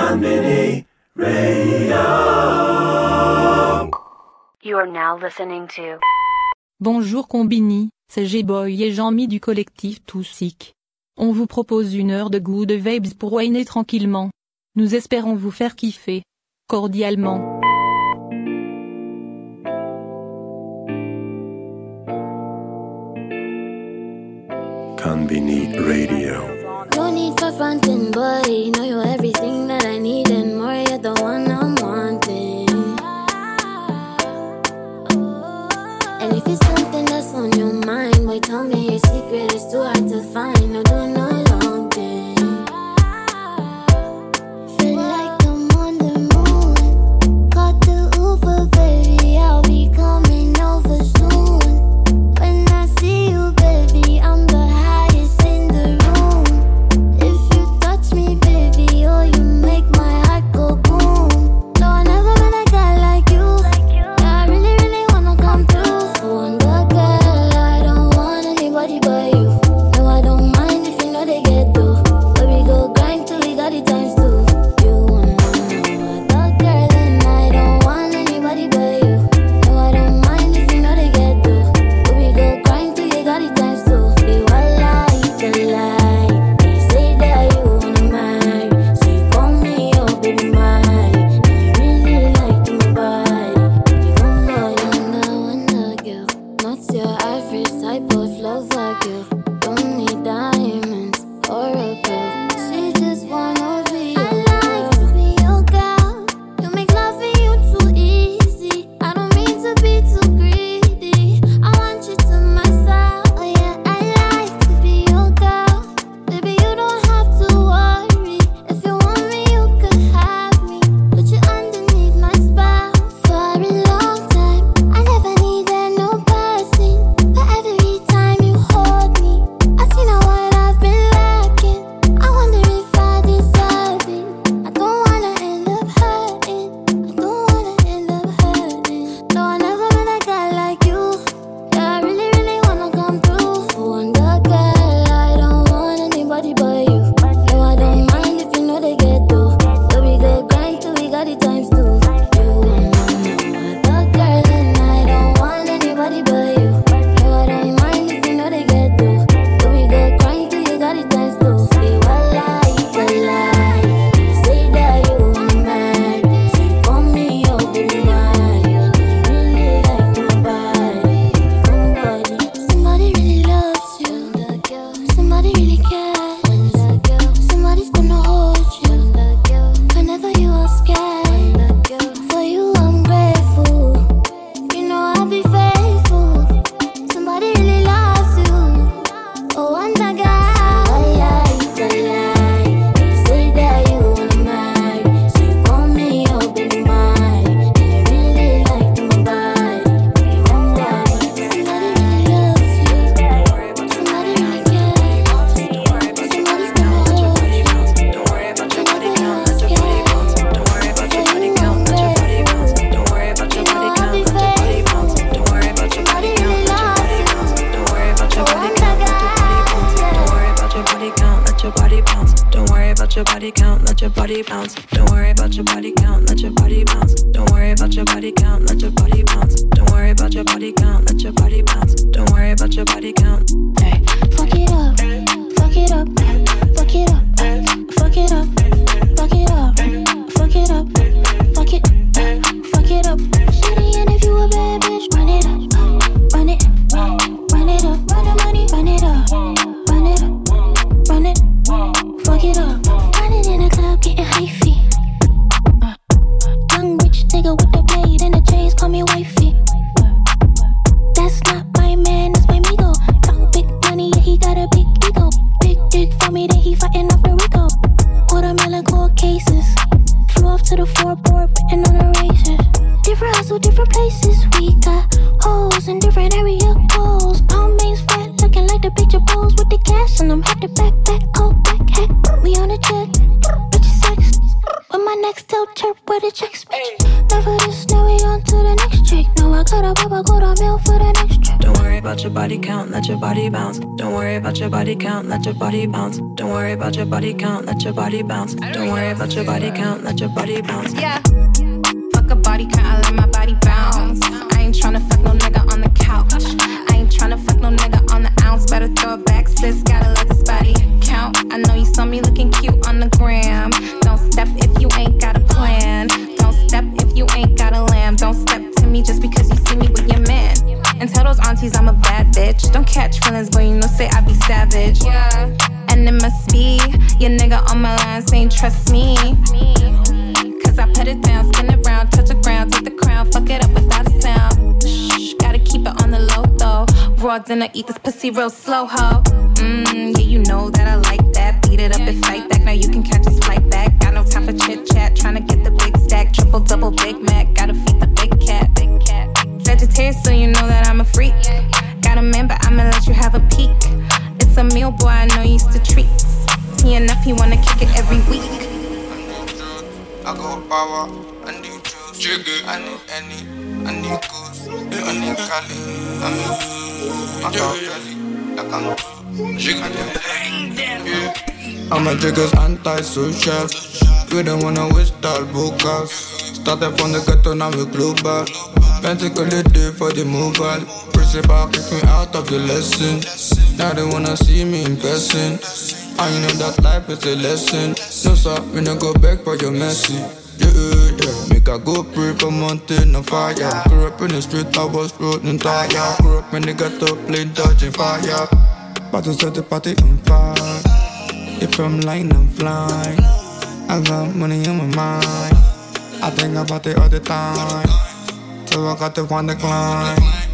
Konbini Radio. You are now listening to. Bonjour Konbini, c'est G-Boy et Jean-Mi du collectif Toussic. On vous propose une heure de good vibes pour whiner tranquillement. Nous espérons vous faire kiffer. Cordialement. Konbini Radio. No need for frontin', boy. Know you're everything that I need and more. You're the one I'm wanting. And if it's something that's on your mind, boy, tell me your secret. It's too hard to find. No, do no long thing. Feel like I'm on the moon. Got the Uber, baby. I'll be coming over soon. When I see you, baby, I'm the highest in the room. If you touch me, baby, oh, you make my heart go boom. No, I never met a guy like you. I really, really wanna come through. Wonder girl, I don't want anybody but you. No, I don't mind if you know they get through. But we go grind till we got it times two. You wanna know other girl, and I don't want anybody but you. No, I don't mind if you know they get through. But we go grind till we got it times two. You are like the light. They say that you wanna marry, so you call me your baby mine. And you really like my body. You gon' go wonder girl. Not your average type of lover girl. Don't need diamonds or a pearl. She just wanna be your girl. I like to be your girl. You make loving you too easy. I don't mean to be too greedy. I want you to myself. Oh yeah, I like to be your girl. Baby, you don't have to worry. If you want me, you could have me. Put you underneath my spell for a long time. I never needed no person, but every time you hold me, I see now what I've been lacking. I wonder if I deserve it. I don't wanna end up hurting. I don't wanna end up hurting. No, I never met a guy like you. Yeah, I really, really wanna come through. Wonder girl, I don't want anybody but you. No, I don't mind if you know they get through. But we go grind till we got it times two. You wanna know other girl, and I don't want anybody but you. No, I don't mind if you know they get through. But we go grind till you got it times two. You are like the light. You say that you wanna marry, so you call me your baby mine. You really like my body. Somebody really loves you. Somebody really cares. Somebody's gonna hold you whenever you are scared. For you, I'm grateful. You know I'll be faithful. Somebody really loves you. Oh, wonder girl. I like the light. You say that you wanna marry, so you call me your baby mine. And you really like my body. Somebody really loves you. Somebody really cares. Somebody's gonna hold you whenever you are scared. For you, I'm Don't worry about your body count, let your body bounce. Don't worry about your body count, let your body bounce. Don't worry about your body count, let your body bounce. Don't worry about your body count, let your body bounce. Don't worry about your body count. Hey. fuck it up, fuck it up, fuck it up, fuck it up, fuck it up, fuck it up, fuck it, fuck it up. Shitty, and if you a bad bitch, run it up, run it, run it up, run the money, run it up, run it up, run it, fuck it up. Running in the club, getting hyphy. Young rich nigga with the blade and the chains, call me wifey. That's not my man, that's my migo. Talk big money, yeah, he got a big ego. Big dick for me, then he fighting off the Rico. Put him Nextel chirp where the checks bitch. Never this, now we on to the next trick. No, I got a baba, go to mail for the next trip. Don't worry about your body count, let your body bounce. Don't worry about your body count, let your body bounce. Don't worry about your body count, let your body bounce. Don't worry about your body count, let your body bounce. Yeah. Fuck a body count, I let my body bounce. I ain't tryna fuck no nigga on the couch. I ain't tryna fuck no nigga on the ounce. Better throw it back, sis, gotta let this body count. I know you saw me looking cute on the gram. Don't step if you ain't got a plan. Don't step if you ain't got a lamb. Don't step to me just because you see me with your man. And tell those aunties I'm a bad bitch. Don't catch feelings, but you know say I be savage. Yeah. And it must be your nigga on my line saying trust me. Cause I put it down, spin it round, touch the ground, take the crown, fuck it up without a sound. Shh, gotta keep it on the low though. Raw dinner, eat this pussy real slow, ho. Yeah, you know that I like that. Beat it up and fight back, now you can catch this flight back. Got no time for chit chat, tryna get the big stack. Triple, double, Big Mac, gotta feed the big cat. Sagittarius, so you know that I'm a freak. Got a man, but I'ma let you have a peek. It's a meal, boy, I know you used to treat. See enough, he wanna kick it every week. I got power, I need juice, I need any, I need goose, I need Cali, I need Machiavelli, like I'm a jigger's anti-social, we don't wanna waste all vocals. Started from the ghetto, now we global. Pentacly day for the mobile. Principal kick me out of the lesson. Now they wanna see me in person. I know that life is a lesson. No sir, me no go back for your mercy. Yeah. Make I go pray for mountain on fire. Grew up in the street, I was floating tire. Grew up in the ghetto, playing dodging fire. About to set the party on fire. If I'm lying, I'm flying. I got money on my mind. I think about it all the time. So I got to find the climb.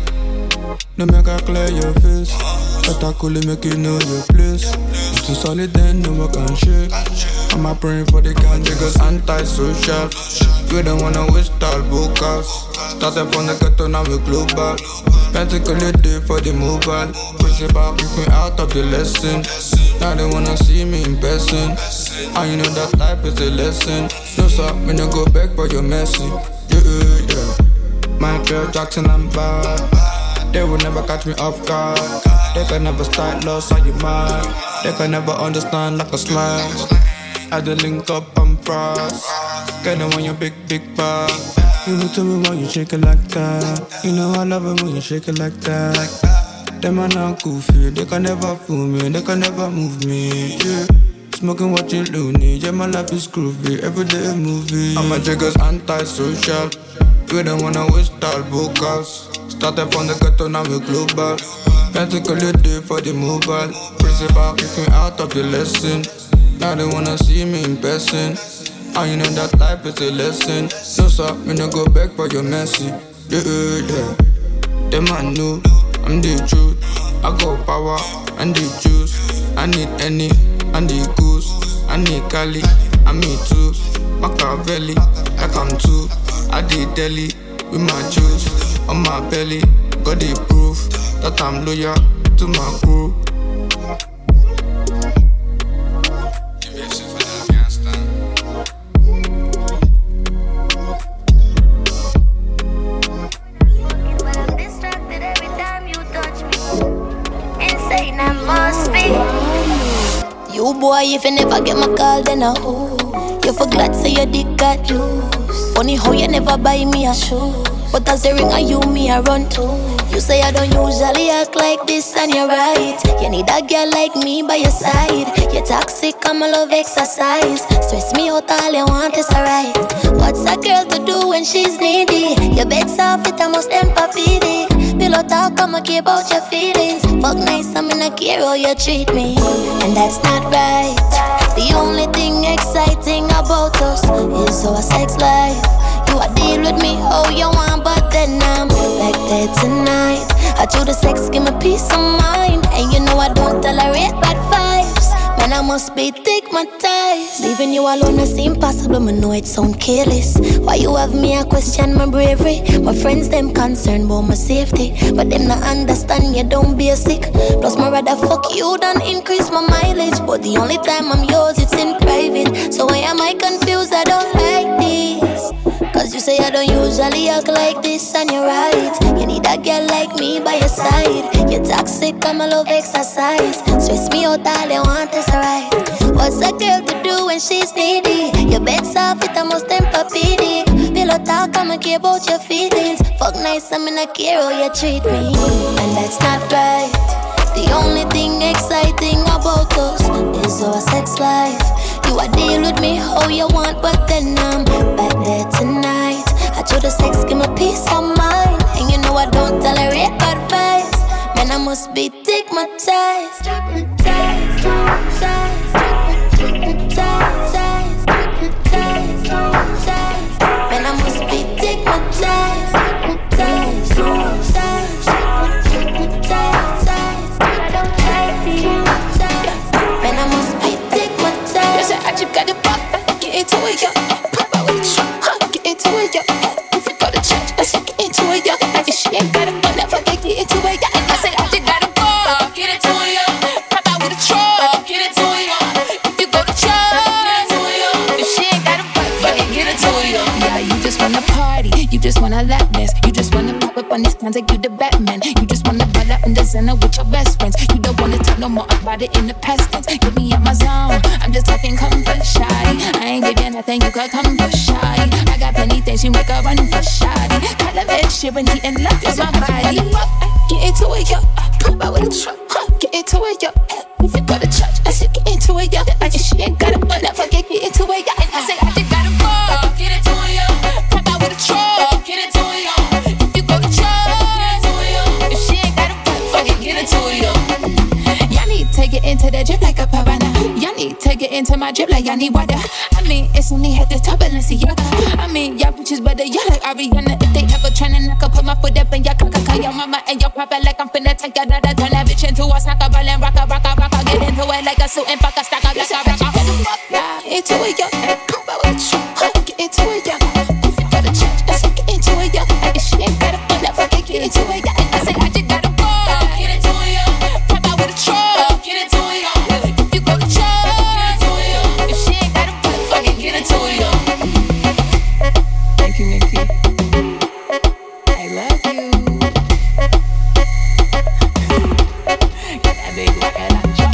No make I clear your face. But I could make you know your place. You too solid then, no I can shake. I'm a praying for the ganja, cause anti-social. We don't wanna waste all vocals. Started from the ghetto, now we global. Pentacly day for the mobile. Principal kick me out of the lesson. Now they wanna see me in person. And you know that life is a lesson. No sir, me no go back for your mercy. Yeah. Michael Jackson, I'm bad. They will never catch me off guard. They can never start lost on your mind. They can never understand like a smash. I did link up, I'm frost. Get them on your big bag. You will tell me why you shake it like that. You know I love it when you shake it like that. Them are not goofy, they can never fool me. They can never move me, yeah. Smoking, watching loony, yeah, my life is groovy. Everyday a movie. I'm a jigger's anti-social. We don't wanna waste all vocals. Started from the ghetto, now we global. Pentacly day for the mobile. Principal kick me out of the lesson. Now they wanna see me in person. And you know that life is a lesson. No sir, me no go back for your mercy. Yeah. Them I know, I'm the truth. I got power, I need juice. I need any, I need goose. I need Cali, I need too. Machiavelli, like I'm too. I did deli with my juice on my belly. Got the proof that I'm loyal to my crew. Give me a shit for that, I can't stand. But I'm distracted every time you touch me. Insane, I must be. You boy, if you never get my call, then I who? You forgot say your dick got juice. Funny how you never buy me a shoe. But as a ring of you, me I run to. You say I don't usually act like this and you're right. You need a girl like me by your side. You're toxic, I'm a love exercise. Stress me out, all you want is alright. What's a girl to do when she's needy? Your bed's off, it almost empathic. Pillow talk, I'ma care about your feelings. Fuck nice, I'm in a care how you treat me. And that's not right. The only thing exciting about us is our sex life. You a deal with me how you want, but then I'm back there tonight. I do the sex, give me peace of mind. And you know I don't tolerate bad vibes. Man, I must be thick, my ties. Leaving you alone may seem possible, but know it sound careless. Why you have me, I question my bravery. My friends, them concerned about my safety, but them not understand you don't basic. Plus, my rather fuck you than increase my mileage. But the only time I'm yours, it's in private. So why am I confused? I don't like don't usually act like this, and you're right. You need a girl like me by your side. You're toxic, I'm a love exercise. Stress me out, all they want is right. What's a girl to do when she's needy? Your bed's soft, it almost temper pity. Pillow talk, I'ma care about your feelings. Fuck nice, I'm in a care how you treat me. And that's not right. The only thing exciting about us is our sex life. You a deal with me how you want, but then I'm back there tonight. I told the sex, give me peace of mind. And you know I don't tolerate bad vibes. Man, I must be stigmatized. Man, I must be stigmatized. Man, I must be stigmatized. You say I just got it pop, get into it, yo. Pop out with the truck, get into it, yo. If you go to church, I say get into it, yo. If she ain't got it, but never get into it, yo. I say I just got it pop, get into it, yo. Pop out with the truck, get into it, yo. If you go to church, get into it, yo. If she ain't got it, but get into it, yo. Yeah, you just wanna party, you just wanna lap dance, you just wanna pop up on these cons like you the Batman. You just wanna ball out in the center with your best friends. You don't wanna talk no more about it in the past tense. Get me at my zone, I'm just talking comfort shy. I ain't give you nothing, you could come for shy. I got plenty things, you make a run for shy. Call of Ed Sheeran, he in love with my body. Get into it, yo. Pop out with a truck, get into it, yo. If you go to church, I said get into it, yo. I just she ain't got it, but never get into it, yo. And I say I just got it raw, get into it, yo. Pop out with a truck, get into it, yo. If you go to church, get into it, yo. If she ain't got it, fucking get into it, yo. Y'all need to take it into the drip like a piranha. Y'all need to take it into my drip like y'all need water. I mean, it's only at the top of Balenciaga. I mean, y'all bitches better, y'all like Ariana. If they ever tryna knock, I put my foot up in your caca. Your mama and your papa like I'm finna take your dada. Turn that bitch into a snacker, ball and rocker. Get into it like a suit and fuck a stacker. Get into it, yo. Pop out with you. Get into it, yo. If you go to church, I say get into it, yo. If she ain't got it, but never get into it, yo. And I say I just got it raw. Get into it, yo. Pop out with a truck. Get into it, yo. If you go to church, get into it, yo. If she ain't got it, but fucking get into it, yo. Thank you, Nikki. I love you. Get that big rocket launcher.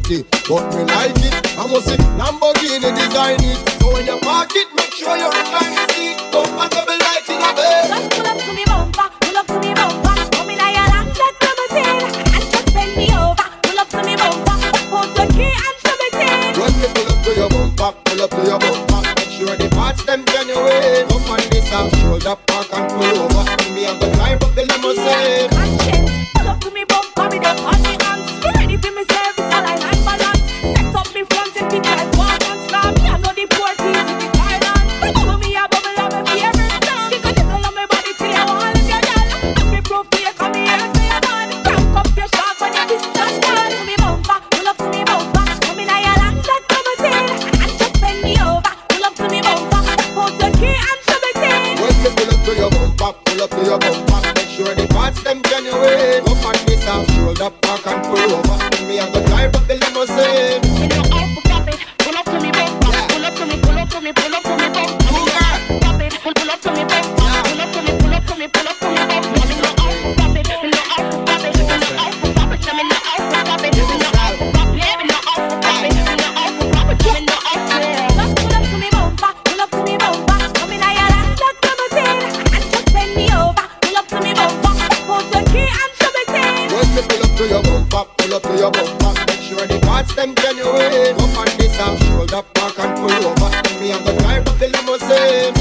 dirty, but me like it. I must say Lamborghini design it. So when you park it, make sure you recline the seat. Compatible like in a bed. Just pull up to me bumper, pull up to me bumper. Come in your Lancet limousine and just bend me over. Pull up to me bumper, put the key and shove it in. When you pull up to your bumper, pull up to your bumper. Make sure the parts them genuine. Up on this half shoulder, park and pull over. Me have to drive up the limousine. Conscience, pull up to me bumper, me them on the hands. Me ready for me service, all I like balance. Set up me front and me drive walk and stop. Me I know the poor keys in the Thailand. Bubble me a bubble and me favorite song. Jiggle on my body till you want it, your girl. Let me prove to you, come here, say you're bad. Crank up your shark when you kiss just down. To me bumper, pull up to me bumper. Come in your Lancet limousine and just bend me over. Pull up to me bumper, put the key and shove it in. When you pull up to your bumper, pull up to your bumper. Make sure the parts them genuine. Up on this half shoulder, park and pull over. Me have to drive up the limousine. Me know how to pop it. Pull up to me bumper. Pull up to me, pull up to me, pull up to me bumper. Pop it, pull up to me bumper. Pull up to me, pull up to me, pull up to me bumper. Me know how to pop it. Me know how to pop it. Me know how to pop it. Me know how to pop it. Me know how to pop it. Me know how to pop it. Me know how to pop it. Me know how to. Just pull up to me bumper. Pull up to me bumper. Come in your Lancet limousine and just bend me over. Pull up to me bumper. Put the key and shove it in. When you pull up to your bumper, pull up to your bumper. Make sure the parts them genuine. Up on this half shoulder, park and pull over. Me have to drive up the limousine.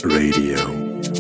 Radio.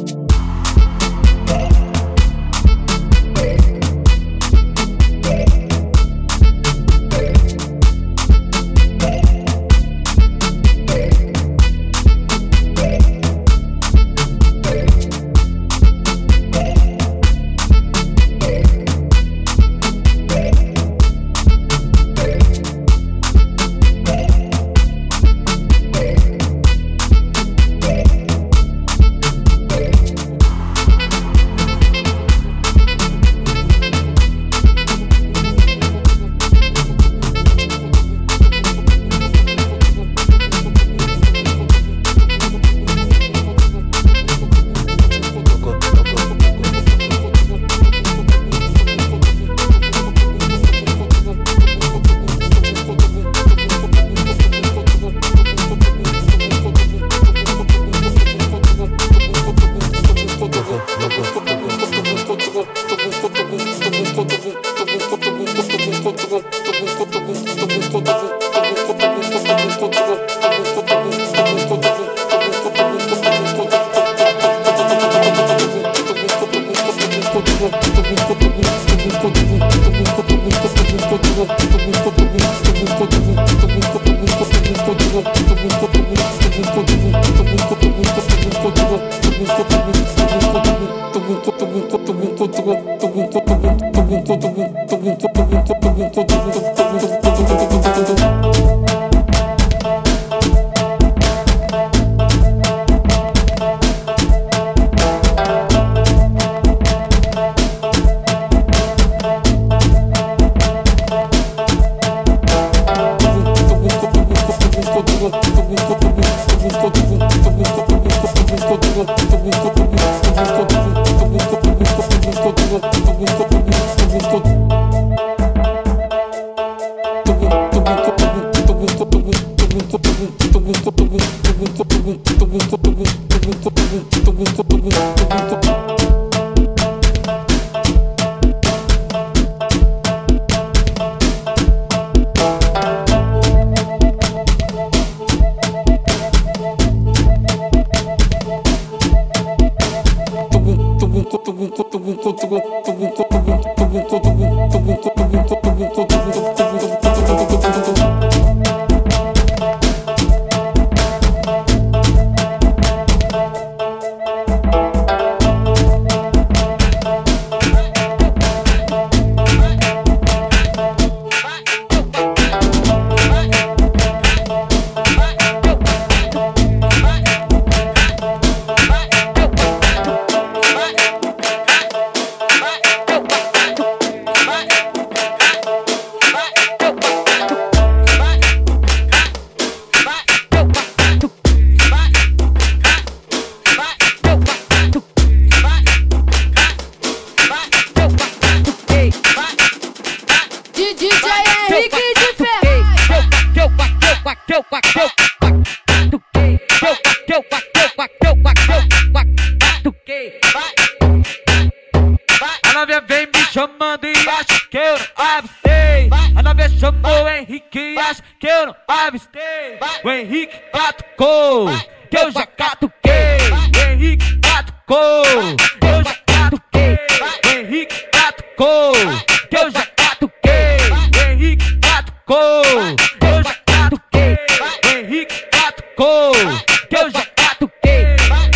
O Henrique catucou, que eu já catuquei. O Henrique catucou, eu já catuquei. O Henrique catucou, que eu já catuquei. O Henrique catucou, eu já catuquei. O Henrique catucou, que eu já catuquei.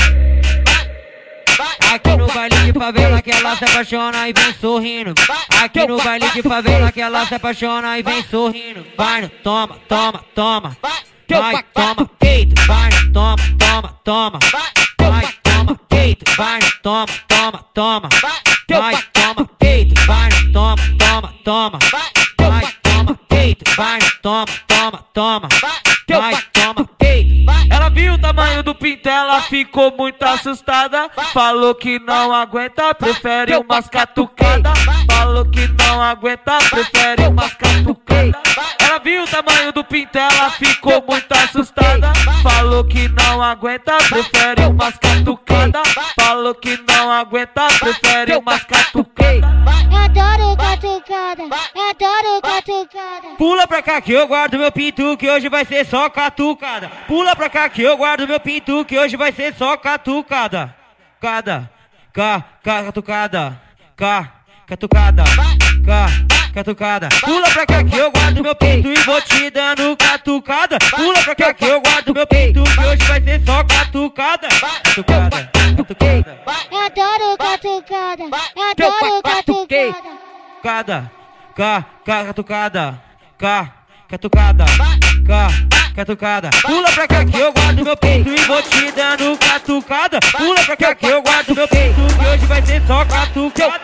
Aqui no baile de favela que ela se apaixona e vem sorrindo. Aqui no baile de favela que ela se apaixona e vem sorrindo. Vai no toma, toma, toma. Vai, toma, peito, vai, toma, toma, toma. Vai, toma, peito, vai, toma, toma, toma. Vai, toma, peito, vai, toma, toma, toma. Vai, toma, peito, vai, toma, toma, toma. Vai, toma, peito. Ela viu o tamanho do pinto, ela ficou muito assustada. Falou que não aguenta, prefere umas catucadas. Falou que não aguenta, prefere umas catucadas. Ela viu o tamanho do pinto, ela ficou muito assustada. Falou que não aguenta, prefere umas catucadas. Falou que não aguenta, prefere umas catucadas. Eu adoro catucada, eu adoro catucada. Pula pra cá que eu guardo meu pinto, que hoje vai ser só catucada. Pula pra cá que eu guardo meu pinto, que hoje vai ser só catucada. Catucada. Catucada. Catucada. Pula pra cá que eu guardo meu pinto e vou te dando catucada. Pula pra cá que eu guardo meu pinto, que hoje vai ser só catucada. Catucada. Eu adoro catucada. Eu adoro catucada. Catucada. Catucada. Pula pra cá que eu guardo meu pinto e vou te dando catucada. Pula pra cá que eu guardo meu pinto, que hoje vai ser só catucada.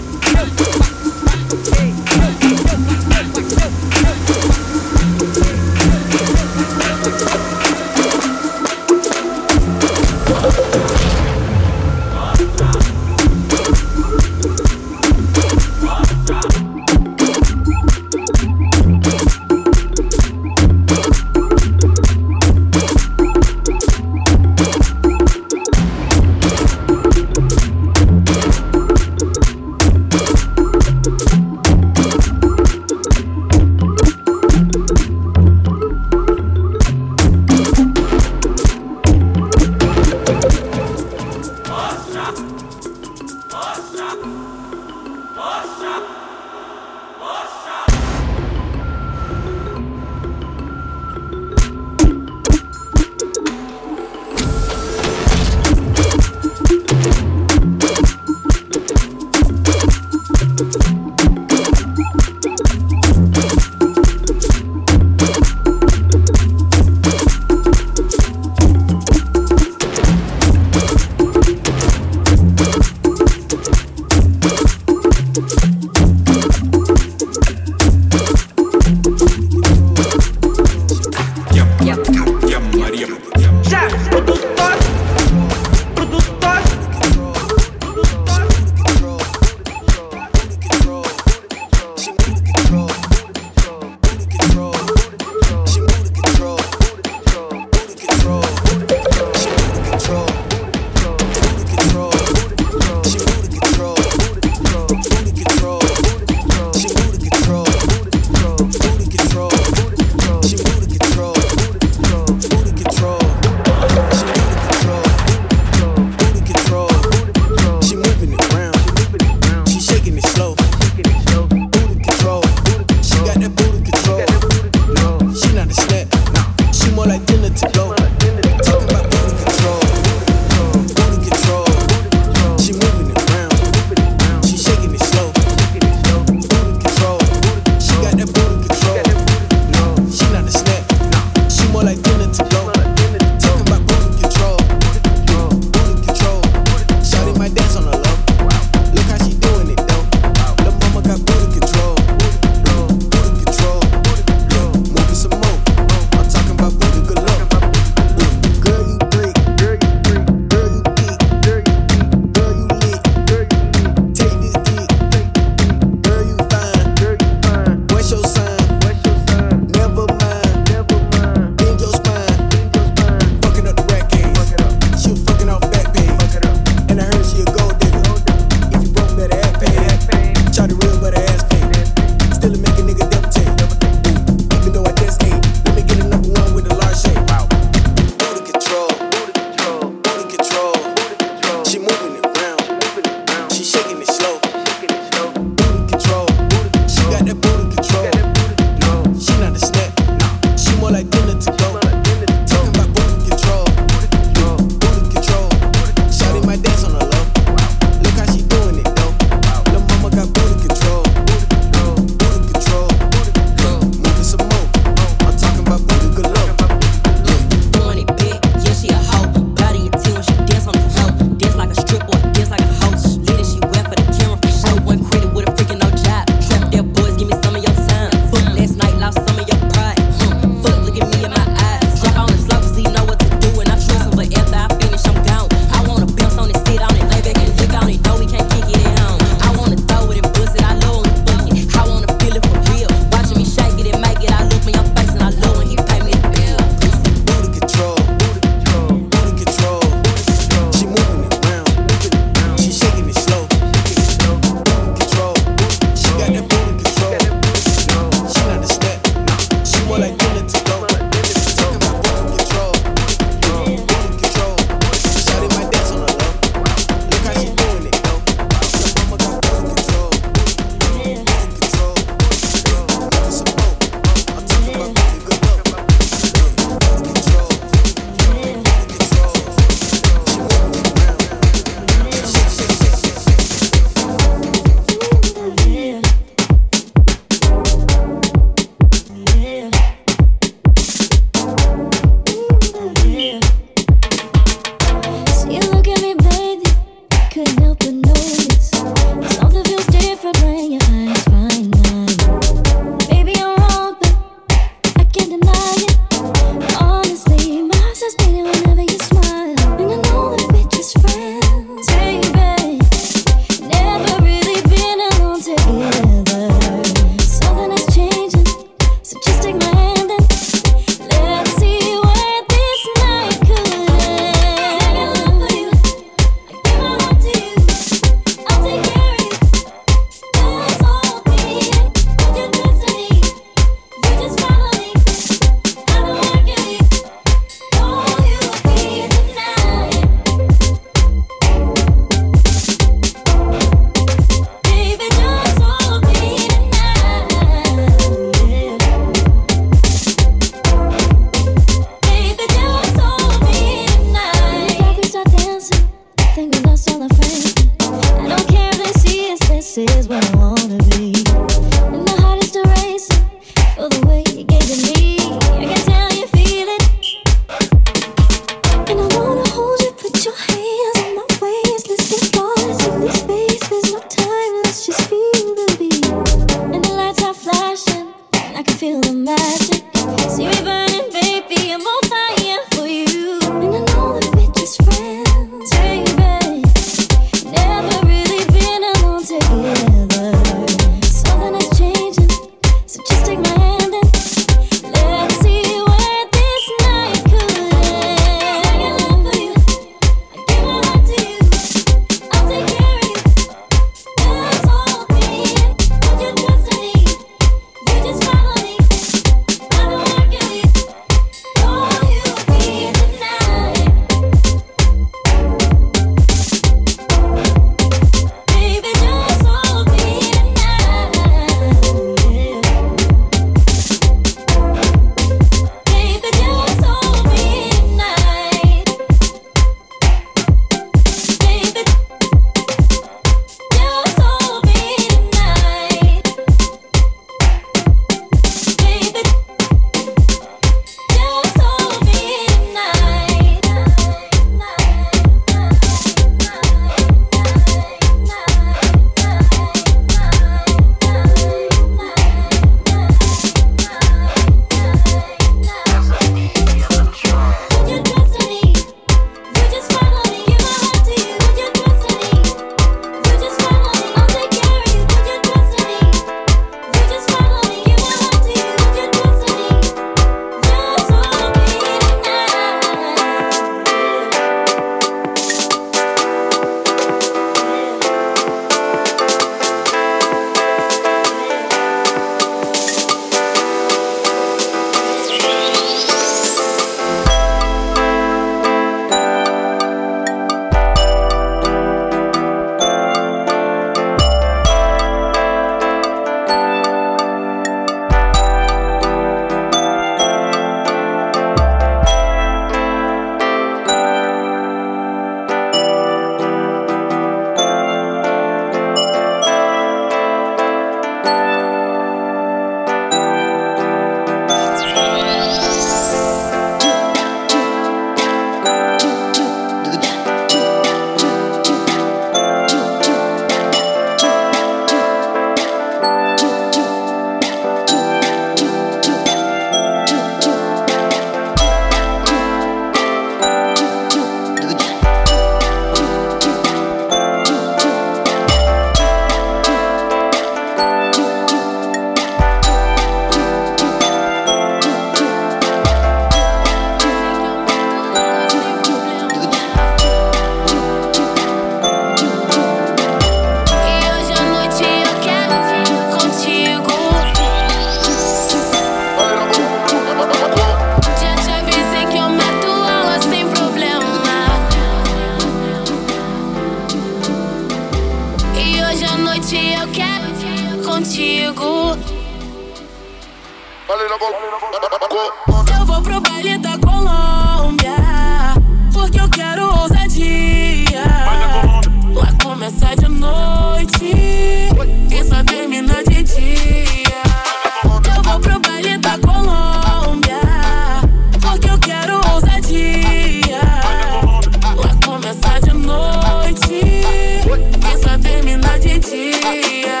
Eu vou pro baile da Colômbia, porque eu quero ousadia. Lá começa de noite e só termina de dia. Eu vou pro baile da Colômbia, porque eu quero ousadia. Lá começa de noite e só termina de dia.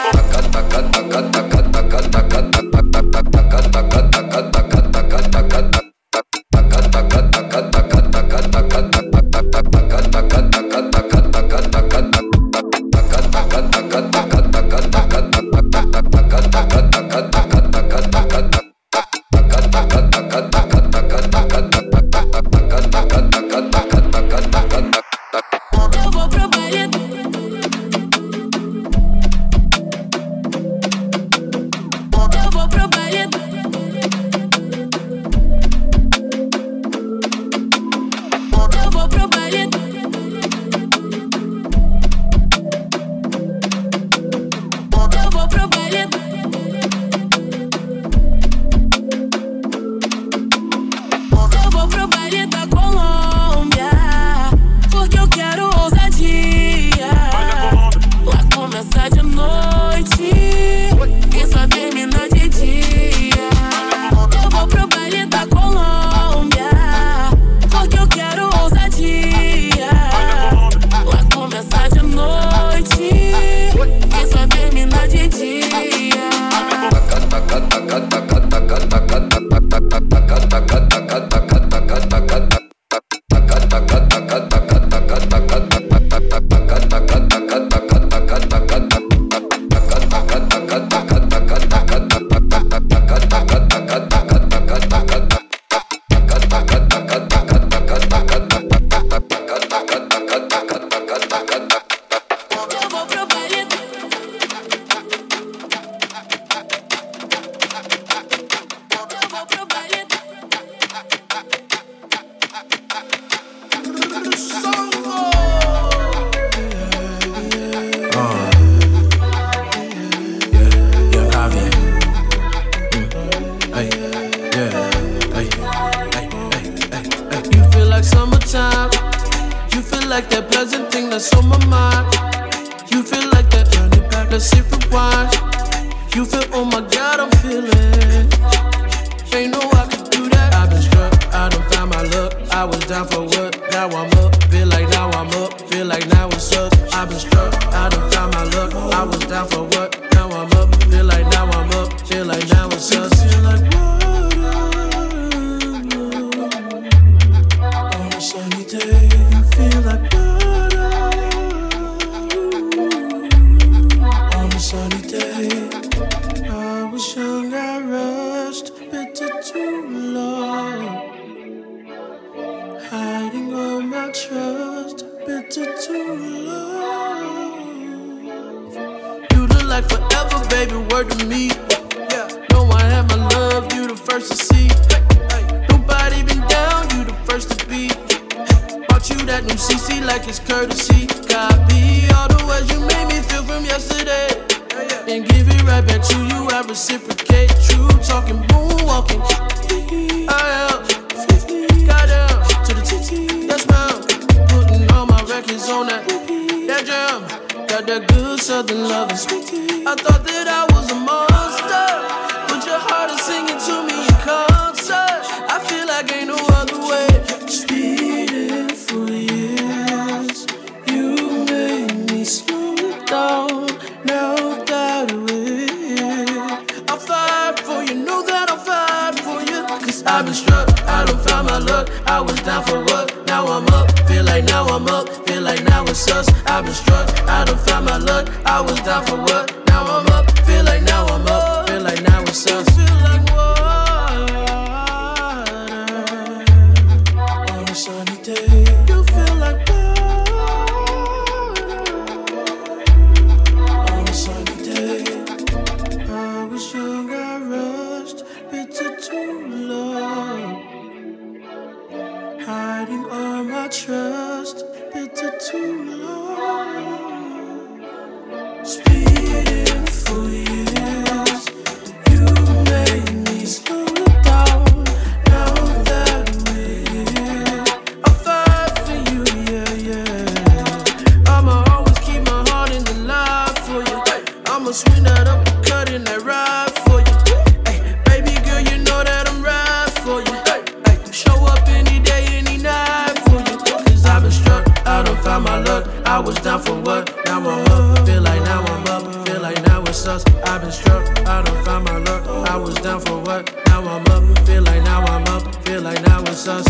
Trust, bitter too long. Speeding for years, you made me slow I was down for what? Now I'm up. Feel like now I'm up. Feel like now it's us. I've been struck. I done found my luck. I was down for what? Now I'm up. Feel like now I'm up. Feel like now it's us.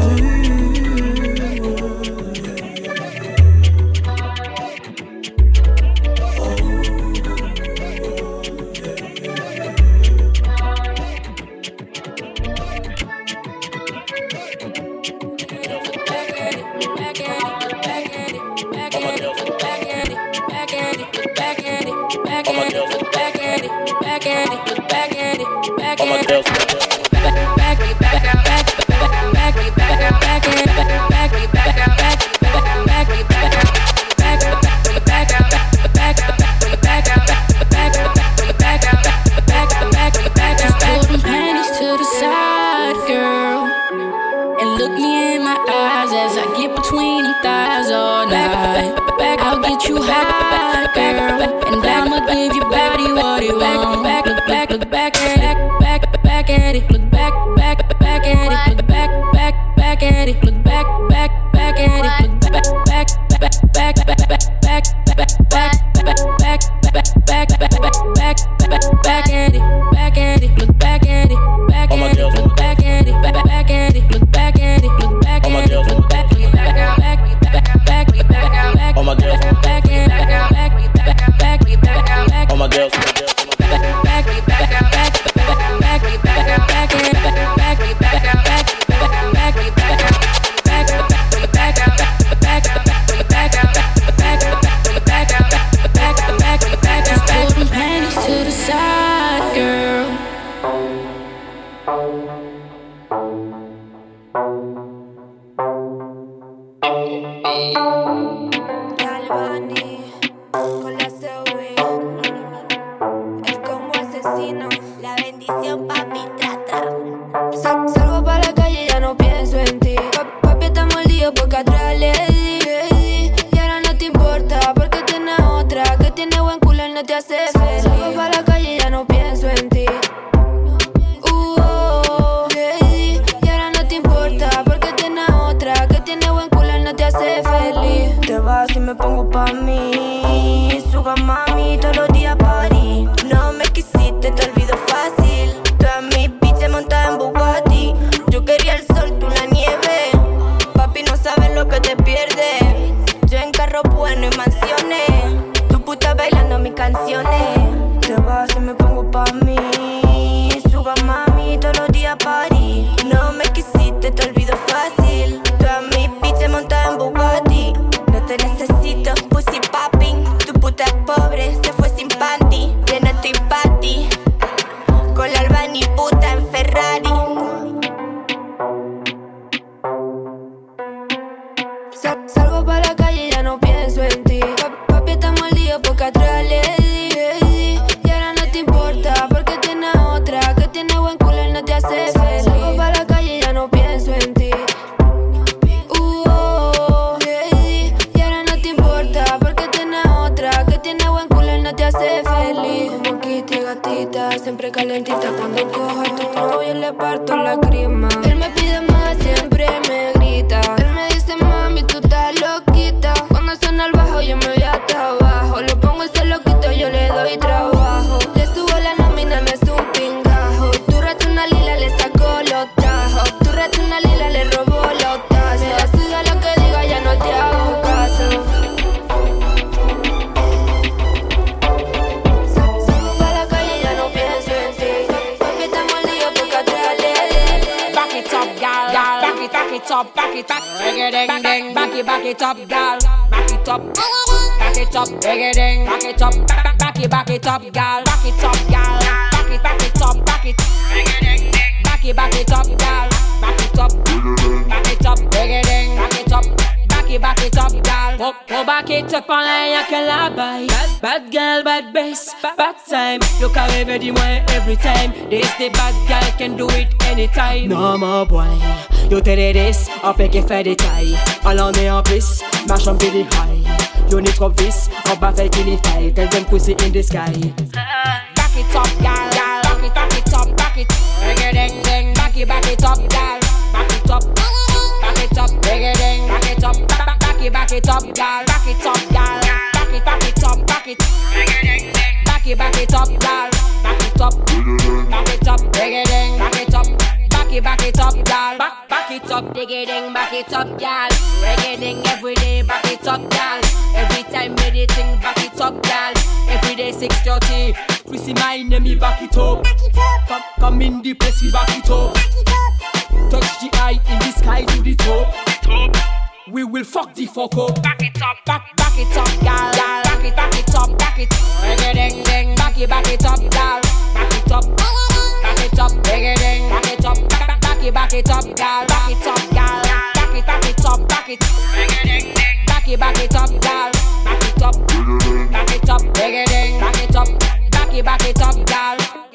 Bad girl, bad bass, bad time. Look how every every time. This the bad girl can do it anytime. Non mon boy, yo t'es this, on fait qu'il fait des tailles. Allons est en plus, marche en billy high. Yo ni trop vis, on bat fait qu'il y faille. Tell them pussy in the sky. Back it up, girl, girl. Back it up, back it. Ding ding, back it up, girl. Back it up, back it up, ding ding, back it up, back it up, girl. Back it up. it up, girl. Back it up, dig it in, back it up. Back it up, girl. Back it up, dig it in, back it up, girl. Reggae every day, back it up, girl. Every time meditating, back it up, girl. Every day 6:30, we see my enemy, back it up. Come in the place, we back it up. Touch the eye in the sky to the top. We will fuck the fuck up. Back it up, back it up, girl. Back it up, back it. Reggae ding, back it up, girl. Back it up, reggae back it up, back it up, girl. Back it up, girl. Back it up, back it. Reggae back it up, girl. Back it up, reggae back it up, back it up, girl.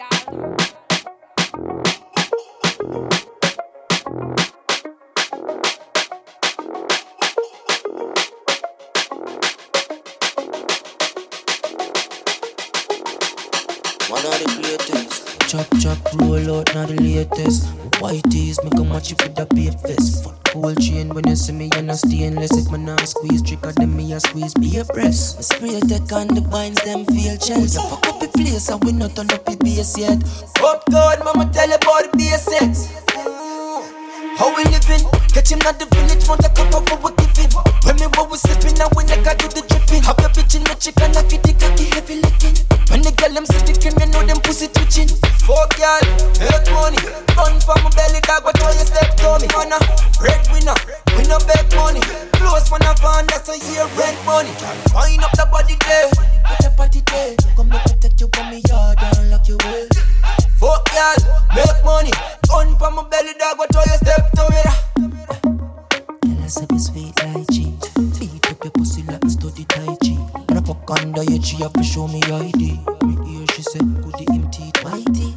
One of the greatest. Chop, roll out, not the latest. White tees, make a match you with the beat fist. Fuck gold chain when you see me, you're not stainless. If man not squeeze, tricker them, me a squeeze, be a breast. Spray tech on the vines, them feel chest. You fuck up the place, and we not turn up the bass yet. Up God, mama tell you about the basics. How we living? Catch him at the village, want a cup of what we giving. When me what we sipping, now when I got do the dripping. Have your bitch in the chicken, I feed the cocky heavy licking. When the girl them see the cream, you know them pussy twitching. Fuck y'all, make money. Run for my belly dog, but why you step to me? Man a breadwinner, we no beg money. Close man a van, that's a year rent money. Wind up the body there, put the body there. Come to protect you from me yard and lock you away. Fuck y'all, make money. Run for my belly dog, but why you step to me? Girl I say be sweet like cheese. Beat up your pussy like a study Tai Chi. And I fuck under your tree, have to show me ID. Me hear she say, could the empty whitey.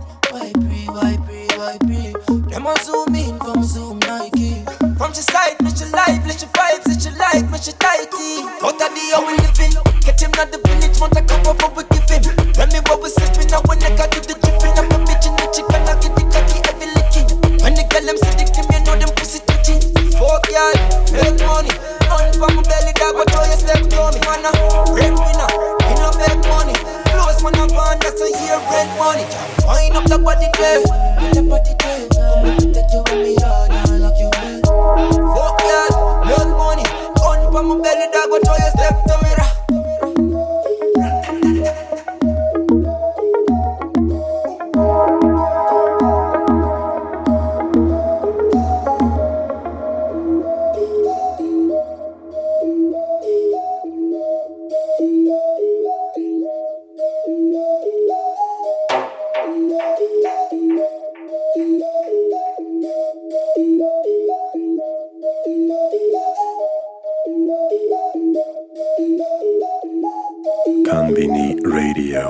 Vibrate. Them a zoom in from Zoom Nike. From your side, let your life, let your vibes, let your life, let your tighty. Out of the how we living. Get him at the village, want a cup of what we give him. Tell me what we sipping, now when I got to the dripping. I'm a bitch in the chicken, I get the cocky heavy licking. When the girl them see the cream, you know them pussy twitching. Fuck y'all, make money. Run for my belly dog, but why you step to me? Man a breadwinner, we no make money. Close man a van, that's a year rent money. Wind up the body there, put the body there. Come to take you with me hard and lock you in. Fuck y'all, make money. Run for my belly dog, but why you step to me? Konbini Radio.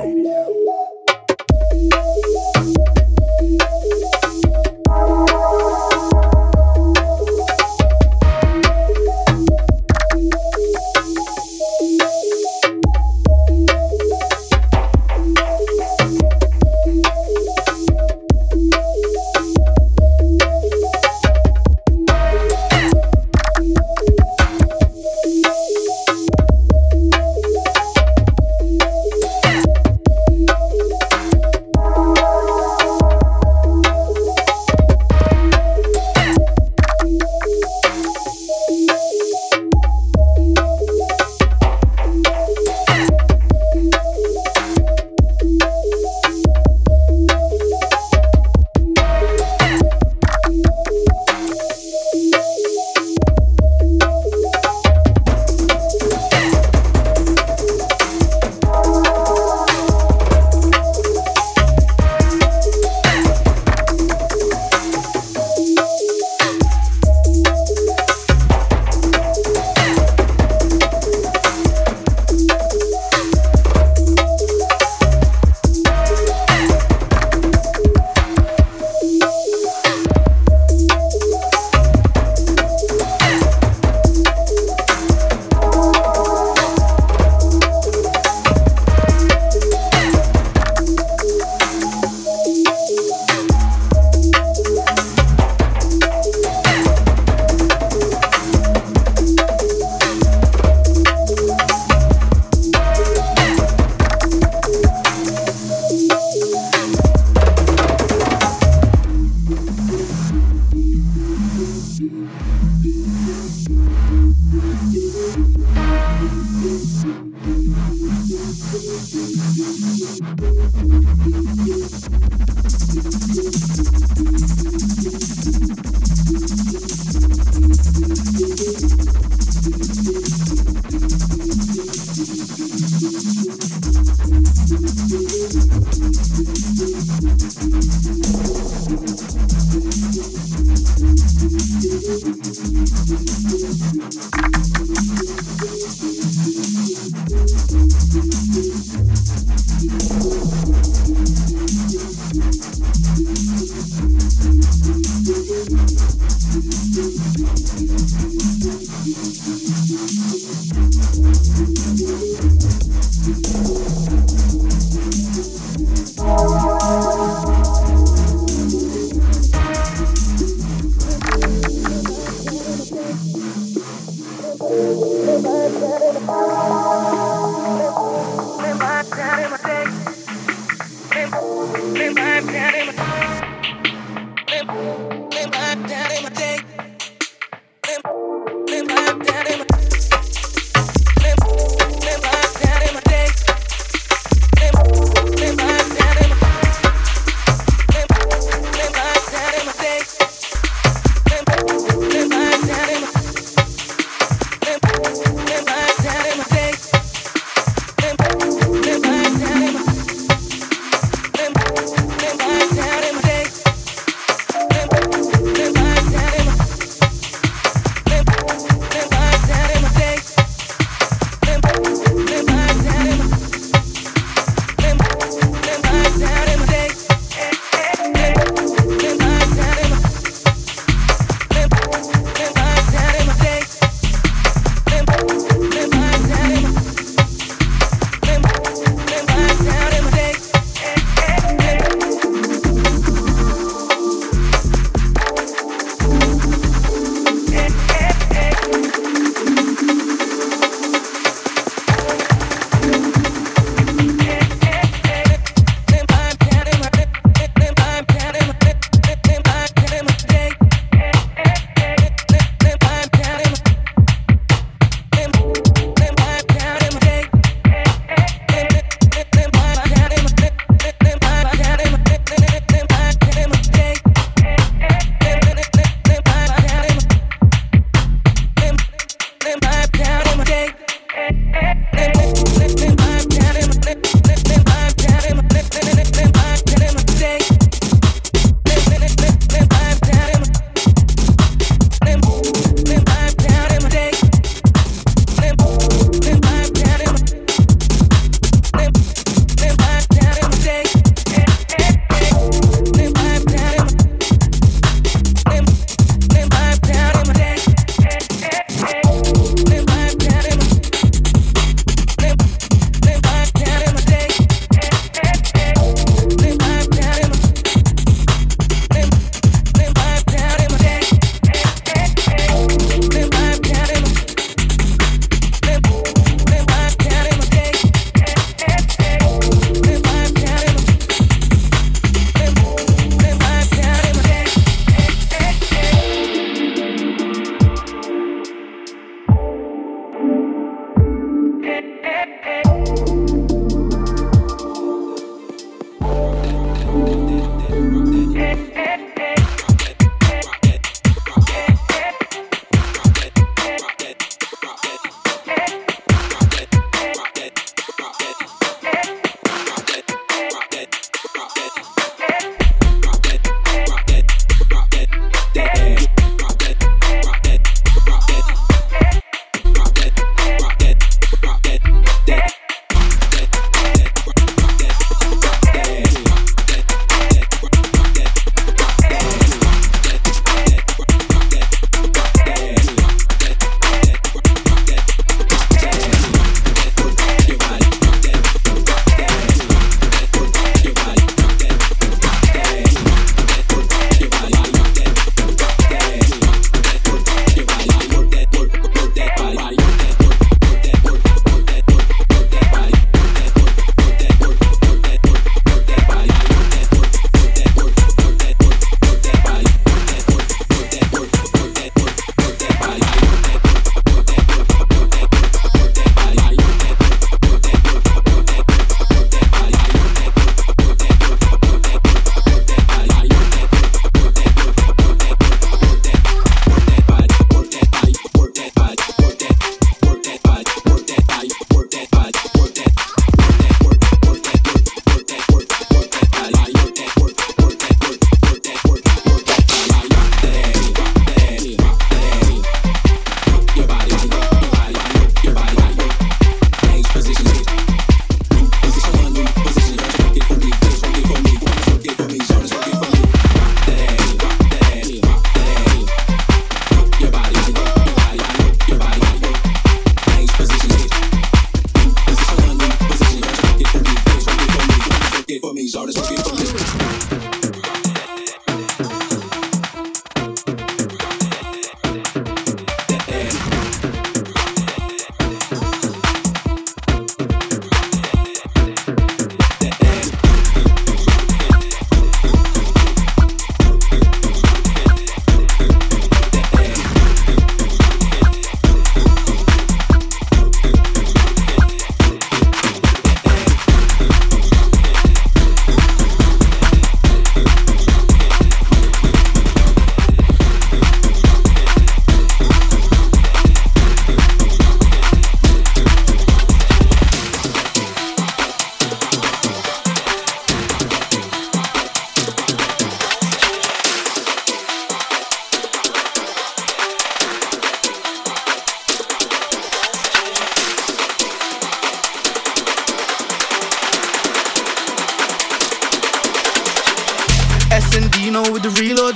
Daddy,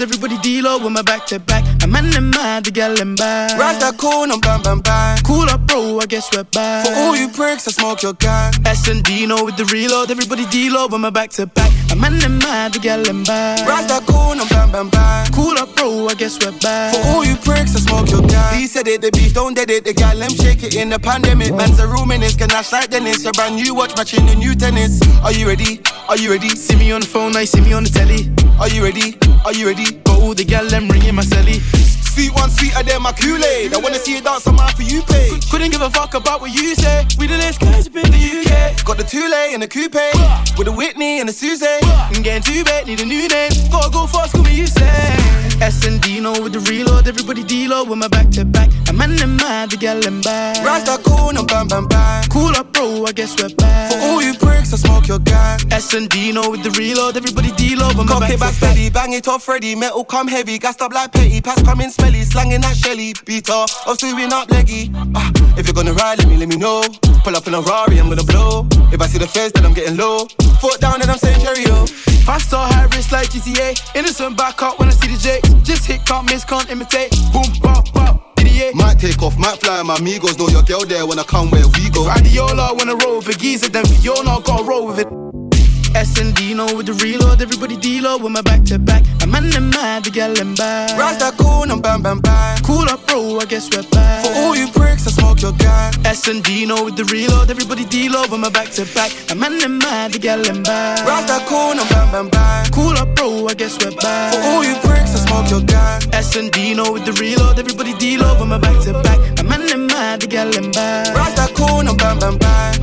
deload, everybody deload when my back to back. I'm in the mad, the gal and bad. Rise that corner, bam bam bam. Cool up, bro, I guess we're back. For all you pricks, I smoke your gang. S&Dino with the reload, everybody deload when my back to back. I'm in the mad, the gal and bad. Rise that corner, bam bam bam. Cool up, bro, I guess we're back. For all you pricks, I smoke your gang. He said it, the beef don't dead it. The gal them shake it in the pandemic. Man's a room in this, can I like Dennis? A brand new watch matching the new tennis. Are you ready? Are you ready? See me on the phone, I see me on the telly. Are you ready? Are you ready? Got all the gal them ringing my celly. Sweet one, sweeter than my Kool-Aid. I wanna see you dance on my For You page. Couldn't give a fuck about what you say. We the latest guys up in the UK. Got the Thule and the coupe with a Whitney and a Suze. I'm getting too bad, need a new name. Gotta go fast, call me Usain. S&Dino with the reload, everybody deload with my back to back. I'm in the mad, the gal and bad. Rise that corner, bam bam bam. Cool up, bro, I guess we're back. For all you pricks, I smoke your gang. S&Dino with the reload, everybody deload with my Cock back it back steady, bang it off ready. Metal come heavy, gassed up like petty. Pass coming smelly, slanging that Shelly. Beater, I'm sewing up leggy. If you're gonna ride, let me know. Pull up in a Rari, I'm gonna blow. If I see the face, then I'm getting low. Foot down and I'm saying cheerio. Fast or high risk like GTA. Innocent back up when I see the Jakes. Just hit, can't miss, can't imitate. Boom, bop, bop, idiot. Might take off, might fly, my amigos. Know your girl there when I come where we go. If Adiola wanna roll with a geezer, then Fiona gotta roll with it. S&Dino with the reload, everybody deload with my back to back. I'm in the mad, the gal and bad. Rise that corner, bam bam bam. Cool up, bro, I guess we're back. For all you pricks, I smoke your gang. S&Dino with the reload, everybody deload with my back to back. I'm in the mad, the gal and bad. Rise that corner, bam bam bam. Cool up, bro, I guess we're back. For all you pricks, I smoke your gang. S&Dino with the reload, everybody deload with my back to back. I'm in the mad, the gal and bad. Rise that corner, bam bam bam.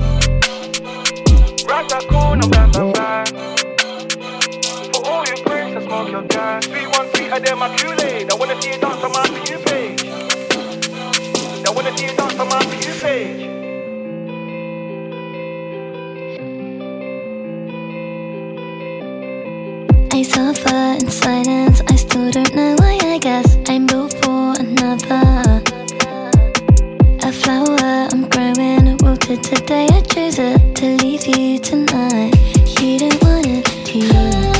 Rise that corner, bam bam bam. For all you pricks, I smoke your gang. Sweet one, sweeter than my Kool-Aid. I wanna see you dance on my For You page. I wanna see you dance on my For You page. I suffer in silence, I still don't know why. I guess I'm built for another. A flower I'm growing, wilted today. I chose it to leave you tonight. You didn't want it to.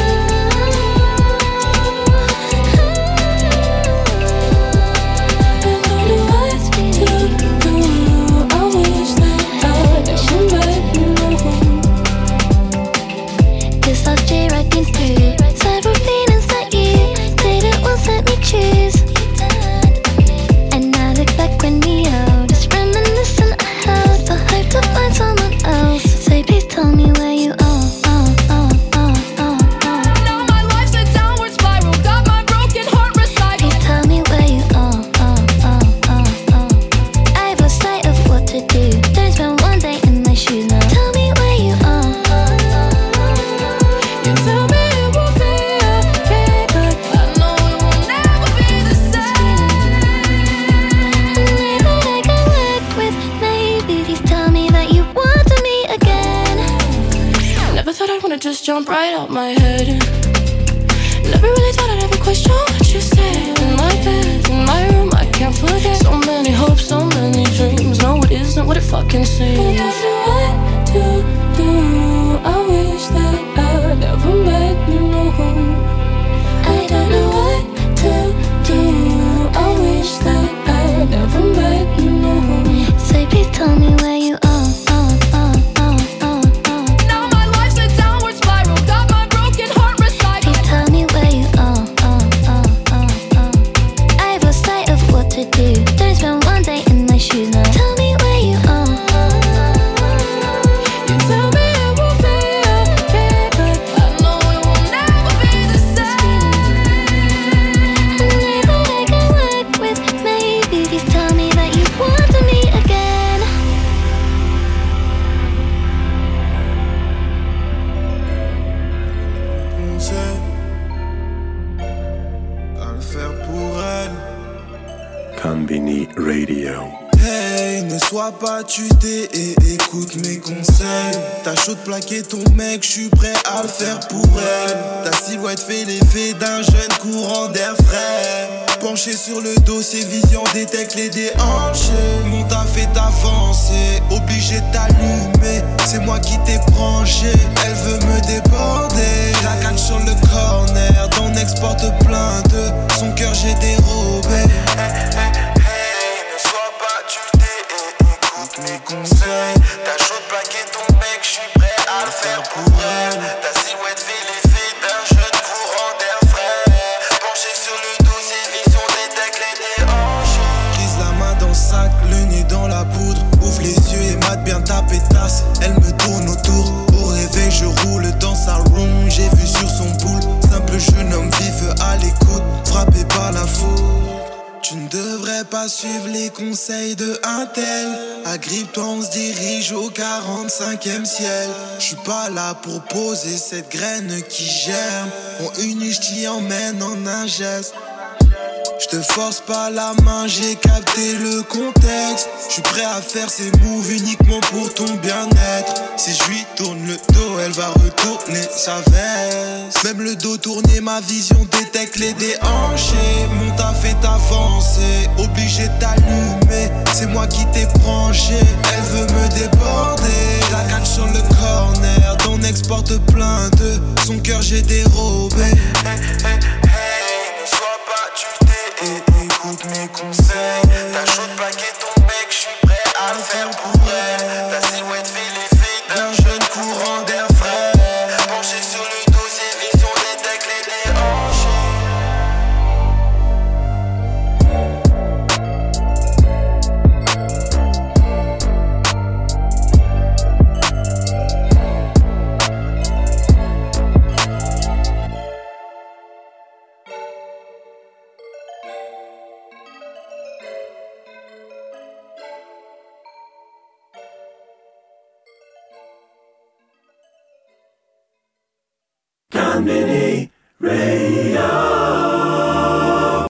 Jump right out my head. Never really thought I'd ever question what you said. In my bed, in my room, I can't forget. So many hopes, so many dreams. No, it isn't what it fucking seems. What do I wish that I never met you, no. I don't know what to do. I wish that I never met you, no. So please tell me where you are. Konbini Radio. Hey, ne sois pas tuté et écoute mes conseils. T'as chaud de plaquer ton mec, j'suis prêt à le faire pour elle. Ta silhouette fait l'effet d'un jeune courant d'air frais. Penché sur le dossier, vision détecte les déhanchés. Monte à fait avancer, obligé de t'allumer. C'est moi qui t'ai branché, elle veut me déborder. La canne sur le corner, d'en exporte plein de. Son cœur j'ai dérobé. Ne sois pas tuté et écoute mes conseils. T'as chaud de plaquer ton mec, je suis prêt à le faire pour elle. Ta silhouette fait l'effet d'un jeune courant d'air frais. Penché sur le dossier, vision des decks, les déhanchés. Prise la main dans le sac, le nez dans la poudre. Ouvre les yeux et mate bien ta pétasse. Elle me tourne autour, au réveil je roule dans sa room. J'ai vu sur son boule, simple jeune homme vif à l'écoute, frappé par la foule. Tu ne devrais pas suivre les conseils de un tel. Agrippe-toi, on se dirige au 45e ciel. Je suis pas là pour poser cette graine qui germe. En une niche t'y emmène en un geste. Je te force pas la main, j'ai capté le contexte. Je suis prêt à faire ces moves uniquement pour ton bien-être. Si je lui tourne le dos, elle va retourner sa veste. Même le dos tourné, ma vision détecte les déhanchés. Mon taf est avancé, obligé de t'allumer. C'est moi qui t'ai branché, elle veut me déborder. La canne sur le corner, d'on exporte plein de. Son cœur j'ai dérobé. Ne sois pas tuté et écoute mes conseils. T'as chaud de plaquer ton mec, je suis prêt à le faire pour elle. Ta silhouette fait l'effet d'un jeune courant d'air frais. Penché sur le dossier, vision des decks, les déhanchés. Conbini Radio.